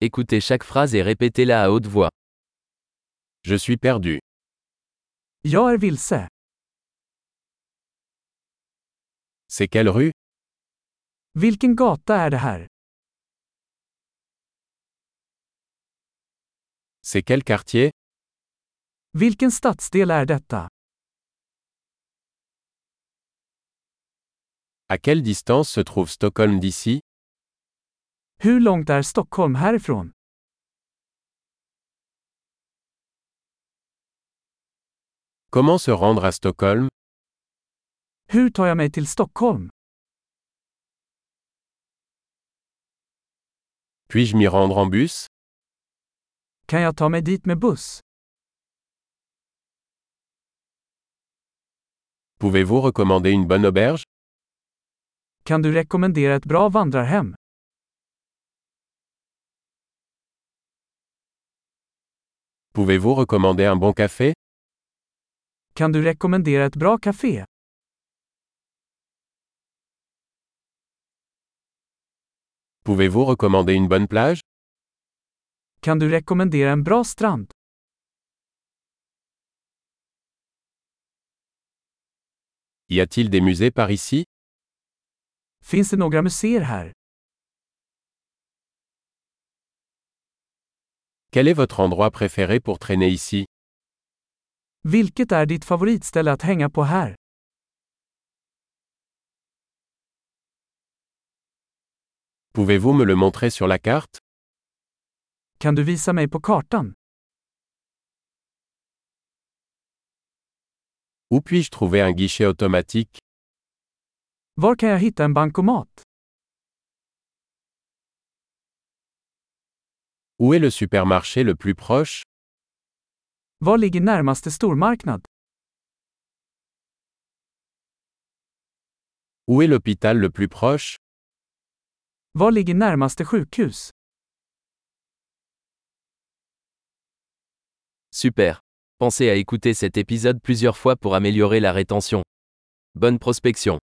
Écoutez chaque phrase et répétez-la à haute voix. Je suis perdu. Jag är vilse. C'est quelle rue? Vilken gata är det här? C'est quel quartier? Vilken stadsdel är detta? À quelle distance se trouve Stockholm d'ici? Hur långt är Stockholm härifrån? Comment se rendre à Stockholm? Hur tar jag mig till Stockholm? Puis-je m'y rendre en bus? Kan jag ta mig dit med buss? Pouvez-vous recommander une bonne auberge? Kan du rekommendera ett bra vandrarhem? Pouvez-vous recommander un bon café? Kan du rekommendera ett bra café? Pouvez-vous recommander une bonne plage? Kan du rekommendera en bra strand? Y a-t-il des musées par ici? Finns det några museer här? Quel est votre endroit préféré pour traîner ici? Vilket är ditt favoritställe att hänga på här? Pouvez-vous me le montrer sur la carte? Kan du visa mig på kartan? Où puis-je trouver un guichet automatique? Var kan jag hitta en bankomat? Où est le supermarché le plus proche? Var ligger närmaste stormarknad? Où est l'hôpital le plus proche? Var ligger närmaste sjukhus? Super. Pensez à écouter cet épisode plusieurs fois pour améliorer la rétention. Bonne prospection.